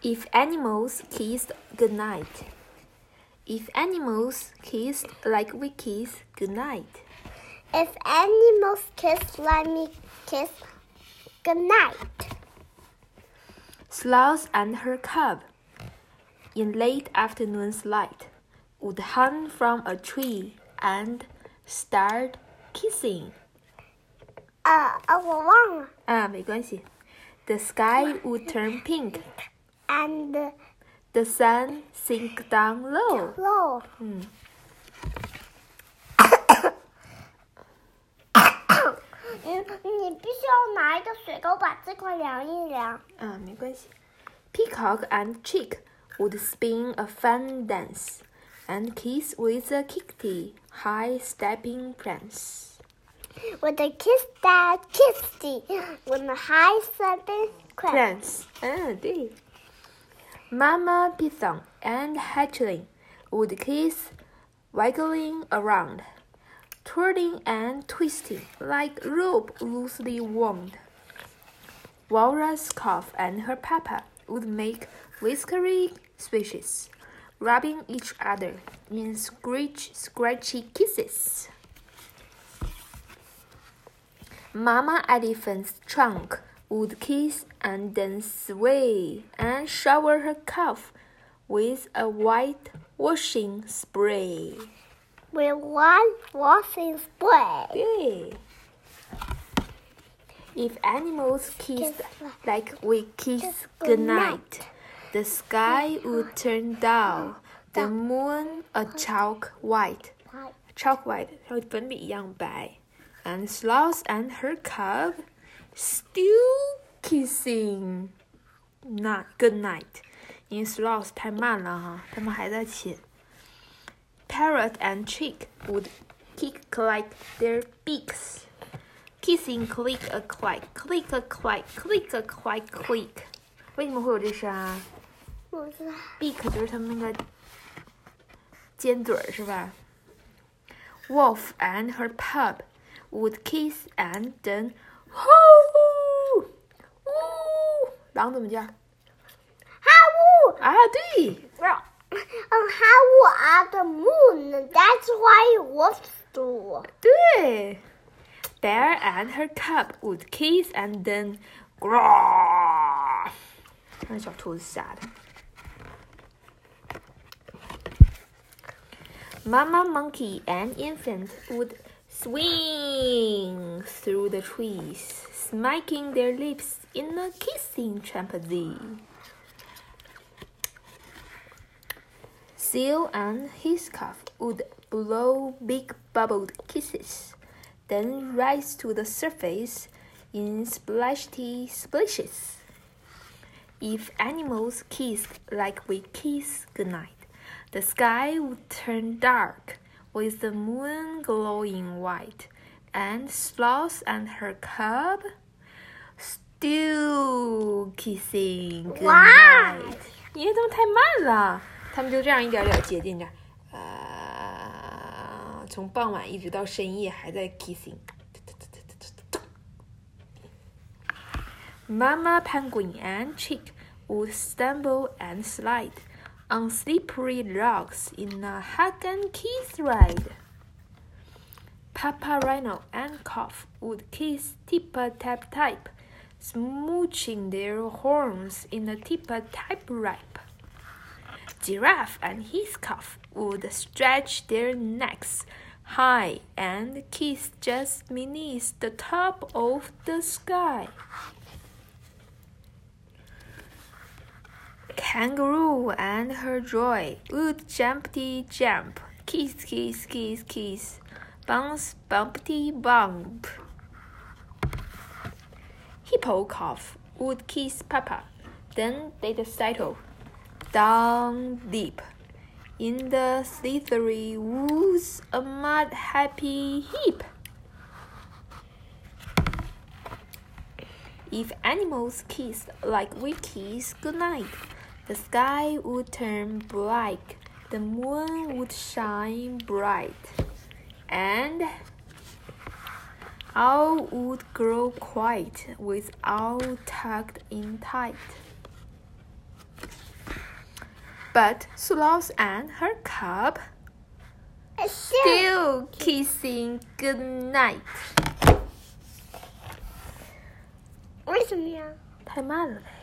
If animals kissed goodnight. If animals kissed like we kiss goodnight. If animals kiss like me kiss goodnight. Sloth and her cub, in late afternoon's light, would hang from a tree and start kissing. 我忘了。 没关系。The sky would turn pink. And the sun sink down low. 你必须要拿一个水钩把这块量一量。 没关系。Peacock and chick would spin a fun dance and kiss with a kickty, high-stepping prance. With a kiss that kissy, with a high-stepping prance. 对。Mama Python and hatchling would kiss, wiggling around, twirling and twisting like rope loosely wound. Walrus calf and her papa would make whiskery swishes, rubbing each other in scratchy kisses. Mama elephant's trunk would kiss and then sway and shower her calf with a white washing spray. With white washing spray. 对。If animals kissed like we kiss goodnight, the sky would turn dull, the moon a chalk white. Chalk white 和粉笔一样白。And Sloth and her cub still kissing. Good night. 因为 Sloth 太慢了哈，他们还在亲。Parrot and chick would kick like their beaks. Kissing click a clack, click a clack, click a clack, click. 为什么会有这声啊？Beak 就是他们那个尖嘴是吧？ Wolf and her pup would kiss and then whoo, woo. 狼怎么叫？ 哈呜！ 对。 How are the moon? That's why wolves do. 对。Bear and her cub would kiss and then growl. 让小兔子吓的。Mama monkey and infant would swing through the trees, smacking their lips in a kissing chimpanzee. Seal and his calf would blow big bubbled kisses, then rise to the surface in splashy splashes. If animals kissed like we kiss goodnight, the sky would turn dark, with the moon glowing white, and Sloth and her cub still kissing goodnight. 因为他们太慢了，他们就这样一点点接近着，从傍晚一直到深夜还在 kissing。Mama penguin and chick would stumble and slide on slippery rocks in a hug and kiss ride. Papa rhino and calf would kiss tip-a-tap-type, smooching their horns in a tip-a-tap rap. Giraffe and his calf would stretch their necks high and kiss just beneath the top of the sky. Kangaroo and her joy would jumpty jump, kiss, kiss, kiss, kiss, bounce, bumpty bump. Hippo calf would kiss Papa, then they'd settle down deep in the slithery woods, a mud happy heap. If animals kissed like we kiss goodnight, the sky would turn black, the moon would shine bright, and all would grow quiet with all tucked in tight. But Sloth and her cub still kissing goodnight. 为什么呀？ 太慢了嘞。